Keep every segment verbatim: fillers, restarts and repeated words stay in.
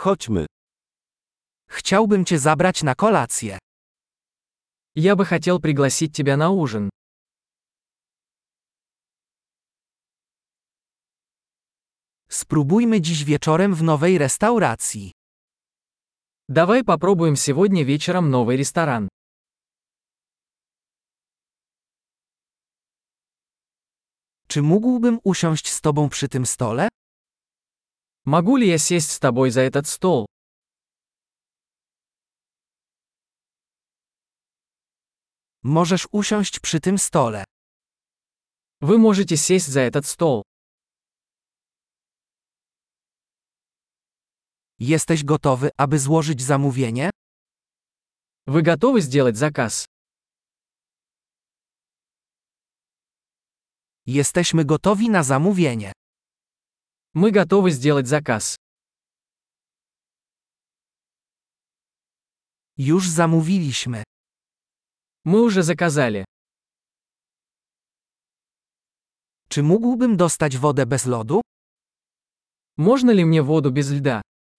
Chodźmy. Chciałbym cię zabrać na kolację. Я бы хотел пригласить тебя на ужин. Spróbujmy dziś wieczorem w nowej restauracji. Давай попробуем сегодня вечером новый ресторан. Czy mógłbym usiąść z tobą przy tym stole? Могу ли я сесть с тобой за этот стол? Możesz usiąść przy tym stole. Вы можете сесть за этот стол. Jesteś gotowy, aby złożyć zamówienie? Вы готовы сделать заказ? Jesteśmy gotowi na zamówienie. Мы готовы сделать заказ. Już zamówiliśmy. Мы уже заказали. Czy mógłbym dostać wodę bez lodu? Можно ли мне воду без льда?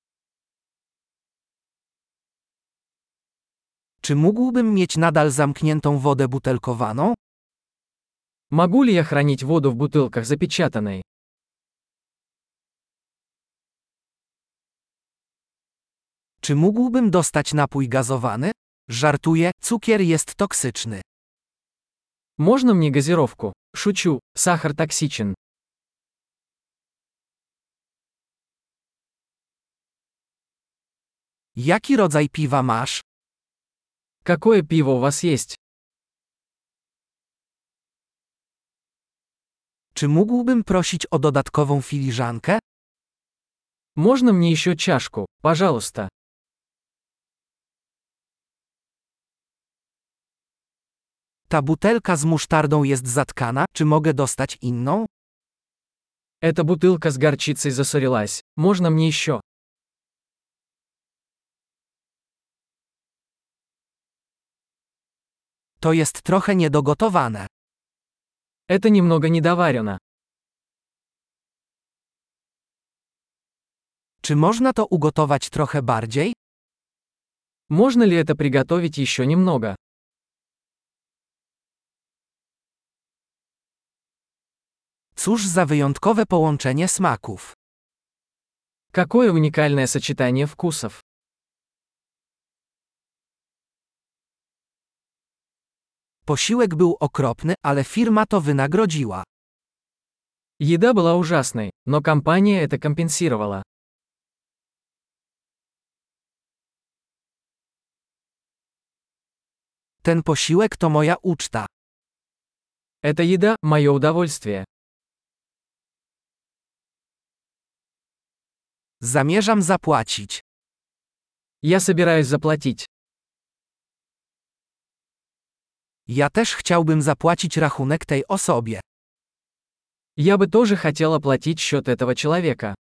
Czy mógłbym mieć nadal zamkniętą wodę butelkowaną? Могу ли я хранить воду в бутылках запечатанной? Czy mógłbym dostać napój gazowany? Żartuję, cukier jest toksyczny. Можно мне газировку? Шучу, сахар токсичен. Jaki rodzaj piwa masz? Какое пиво у вас есть? Czy mógłbym prosić o dodatkową filiżankę? Можно мне еще чашку, пожалуйста? Ta butelka z musztardą jest zatkana, czy mogę dostać inną? Эта бутылка с горчицей засорилась. Можно мне еще? To jest trochę niedogotowane. Это немного недоварено. Czy można to ugotować trochę bardziej? Можно ли это приготовить еще немного? Cóż za wyjątkowe połączenie smaków. Какое уникальное сочетание вкусов. Posiłek był okropny, ale firma to wynagrodziła. Еда была ужасной, но компания это компенсировала. Ten posiłek to moja uczta. Эта еда – мое удовольствие. Zamierzam zapłacić. Я собираюсь заплатить. Ja też chciałbym zapłacić rachunek tej osobie. Я бы тоже хотел оплатить счет этого человека.